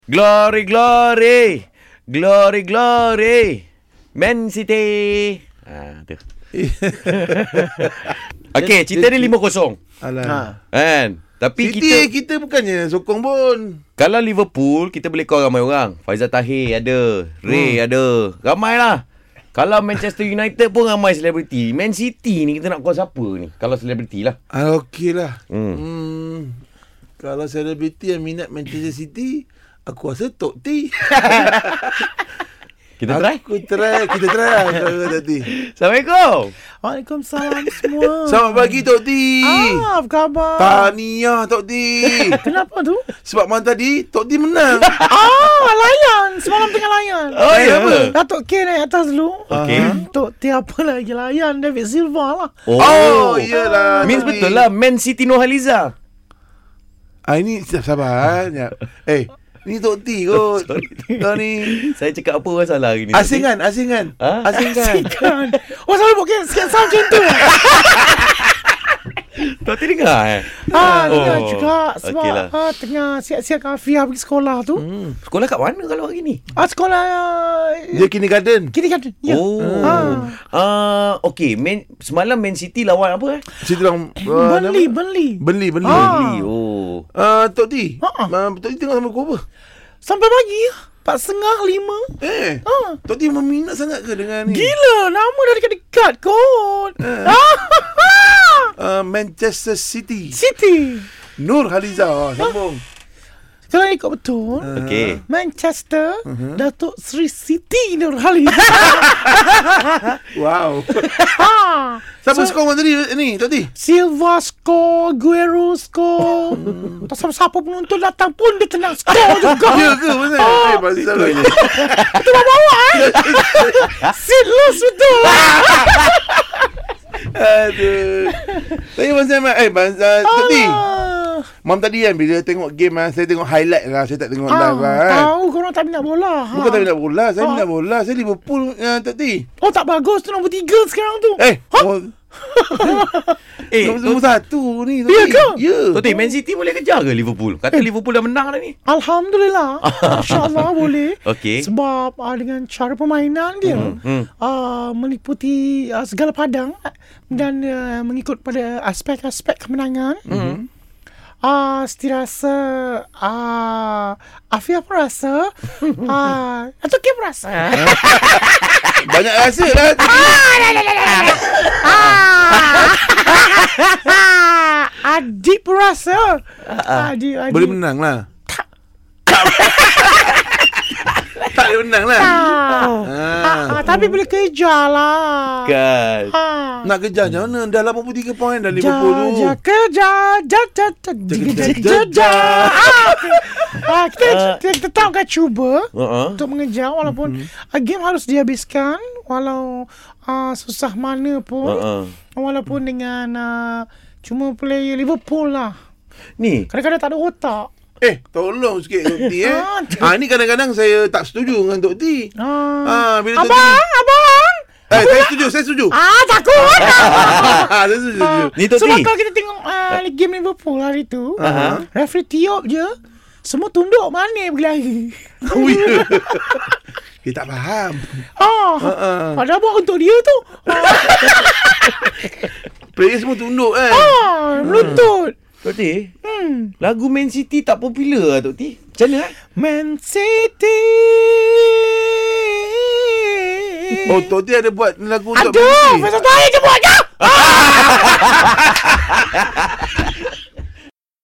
Glory, glory. Glory, glory. Man City. Tu. Okey, cerita ni 5-0. Alah. Kan? Tapi kita bukannya sokong pun. kalau Liverpool, kita boleh call ramai orang. Faizal Tahir ada, Ray ada. Ramai lah. Kalau Manchester United pun ramai selebriti. Man City ni kita nak call siapa ni? Kalau selebriti lah. Okey lah. Kalau selebriti yang minat Manchester City, aku rasa Tok T. Kita try? Kita try lah Tok T. Assalamualaikum. Waalaikumsalam semua. Selamat pagi Tok T. Apa khabar? Tahniah Tok T. Kenapa tu? Sebab malam tadi Tok T menang. Layan. Semalam tengah layan. Oh, ya apa? Datuk K naik atas dulu. Okey. Tok T apa lagi layan? David Silva lah. Oh, iyalah. Means Tok T. betul lah. Man City Nurhaliza. Ini sabar. Ni Tok T kot. Kau ni Saya cakap apa orang salah hari ni? asingan. Ha? Asingan. Kan. Selalu pakai sikit sound macam tu. Tok T dengar Dengar juga. Sebab Okeylah. tengah siap-siap Afia pergi sekolah tu. Sekolah kat mana kalau hari ni? Sekolah Dia kindergarten. kini kan. Ya. Okey. Semalam Man City lawan apa Situ lang Burnley. Beli. Burnley. Oh. Tok T. Tok T tengok sama kau apa? Sampai pagi 4:30, 5. Tok T meminat sangat ke dengan ni? Gila, nama dah dekat-dekat kot. Manchester City. City. Nurhaliza. Sambung. Kalau ikut betul, Okey. Manchester, Datuk Sri Siti Nurhaliza. Wow. Siapa skor malam tadi ni Tok T? Silva skor, Guerrero skor. Tak siapa penonton datang pun dia tenang skor juga. Ya ke? Pasal? Pasal ni. Itu bawa Seedless betul. Aduh. Tapi pasal Tok T. Malam tadi kan bila tengok game saya tengok highlight lah. Saya tak tengok live lah kan. Tahu korang tak minat bola. Bukan tak minat bola. Saya minat bola. Saya Liverpool Tok T. Oh tak bagus tu nombor 3 sekarang tu. Nombor 1 ni Tok T. Ya ke? Ya. Tok T, Man City boleh kejar ke Liverpool? Kata Liverpool dah menang dah ni. Alhamdulillah. InsyaAllah boleh. Okey. Sebab dengan cara permainan dia meliputi segala padang dan mengikut pada aspek-aspek kemenangan. Setiap rasa Afia pun rasa atau Kim rasa Banyak rasa lah. Adik pun rasa Adik Boleh menang lah. Tak boleh menang lah. tapi boleh kejar lah Kan. Nak kejar macam mana? Dah 83 poin dah Liverpool tu. Kejar kita tahu kan cuba untuk mengejar walaupun game harus dihabiskan walau susah mana pun walaupun dengan cuma player Liverpool lah Ni. kadang-kadang tak ada otak. Tolong sikit Tok T ni kadang-kadang saya tak setuju dengan Tok T. Bila Tok T Abang saya setuju. takut. Saya setuju. Ni Tok T. Sebab kalau kita tengok game Liverpool hari tu, referee tiup je, semua tunduk mana berlari. Oh ya. Kita tak faham. Padahal buat untuk dia tu. Player semua tunduk kan. Meluntut. Tok T, lagu Man City tak popular lah Tok T. Macam mana Man City. Oh, Tok T ada buat lagu untuk Aduh, Faizal Tahir je buat je.